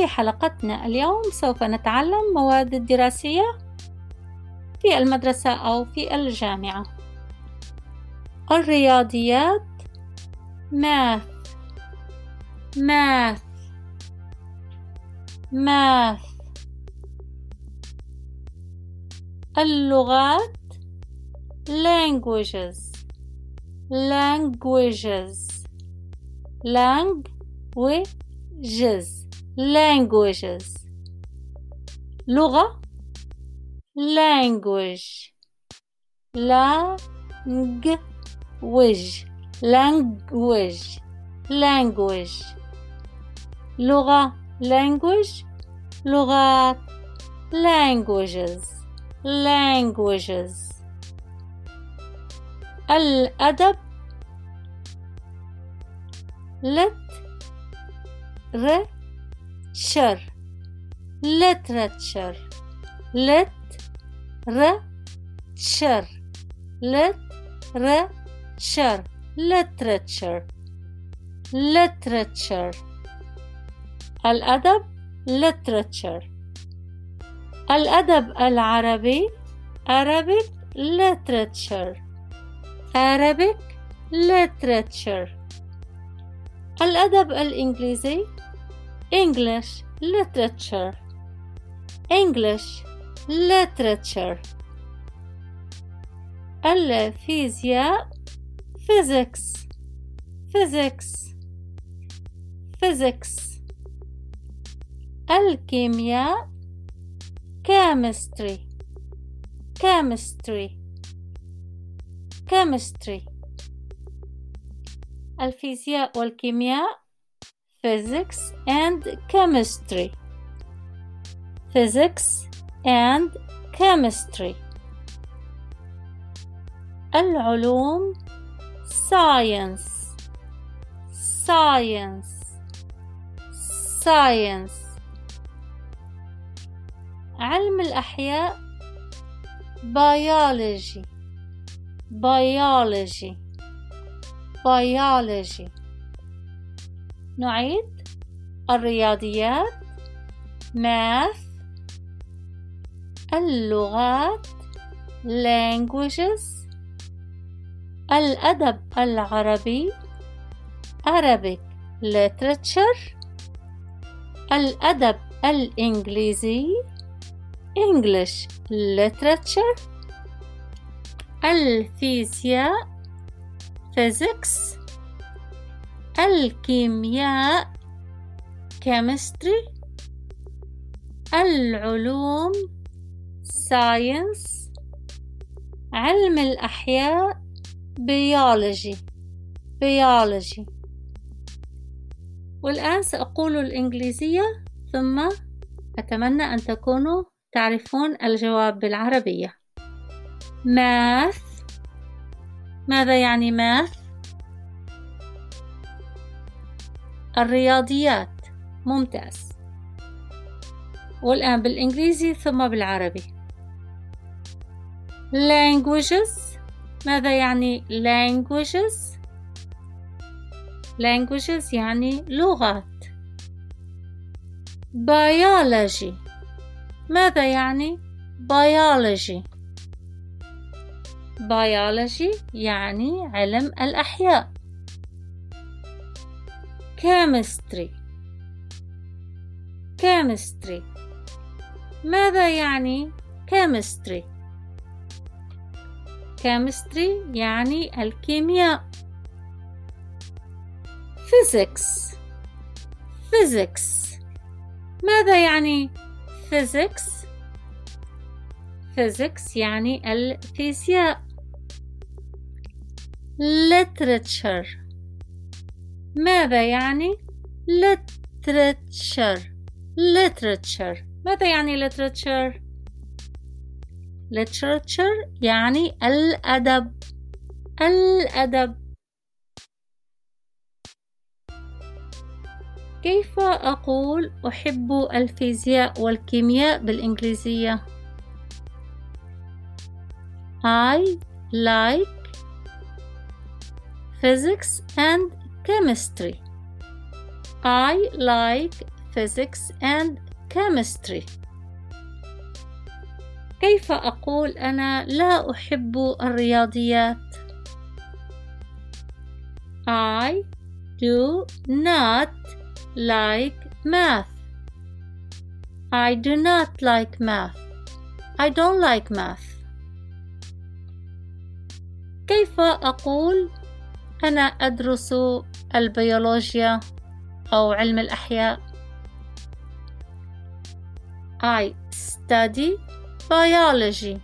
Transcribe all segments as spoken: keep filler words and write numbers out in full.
في حلقتنا اليوم سوف نتعلم مواد الدراسية في المدرسة أو في الجامعة. الرياضيات math math math. اللغات languages languages languages languages. لغة language language language language. لغة language لغات languages languages. الأدب literature literature literature literature literature literature. الأدب literature. الأدب العربي Arabic literature Arabic literature. الأدب الإنجليزي English literature English literature. الفيزياء physics physics physics. الكيمياء chemistry chemistry chemistry. الفيزياء والكيمياء physics and chemistry physics and chemistry. العلوم science science science. علم الأحياء biology biology biology. نعيد. الرياضيات math. اللغات languages. الأدب العربي Arabic literature. الأدب الإنجليزي English literature. الفيزياء physics. الكيمياء chemistry. العلوم science. علم الأحياء biology biology. والآن سأقول الإنجليزية ثم أتمنى أن تكونوا تعرفون الجواب بالعربية. math. ماذا يعني math؟ الرياضيات. ممتاز. والآن بالإنجليزي ثم بالعربي. languages. ماذا يعني languages؟ languages يعني لغات. biology. ماذا يعني biology؟ biology يعني علم الأحياء. chemistry chemistry. ماذا يعني chemistry؟ chemistry يعني الكيمياء. physics physics. ماذا يعني physics؟ physics يعني الفيزياء. literature. ماذا يعني literature literature. ماذا يعني literature؟ literature يعني الأدب الأدب. كيف أقول أحب الفيزياء والكيمياء بالإنجليزية؟ I like physics and chemistry. I like physics and chemistry. كيف أقول أنا لا أحب الرياضيات؟ I do not like math. I do not like math. I don't like math. كيف أقول أنا أدرس البيولوجيا أو علم الأحياء؟ I study biology.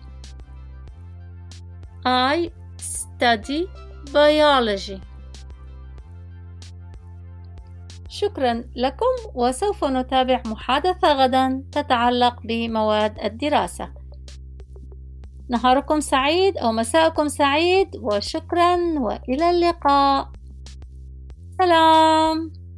I study biology. شكرا لكم، وسوف نتابع محادثة غدا تتعلق بمواد الدراسة. نهاركم سعيد أو مساءكم سعيد، وشكرا وإلى اللقاء. سلام.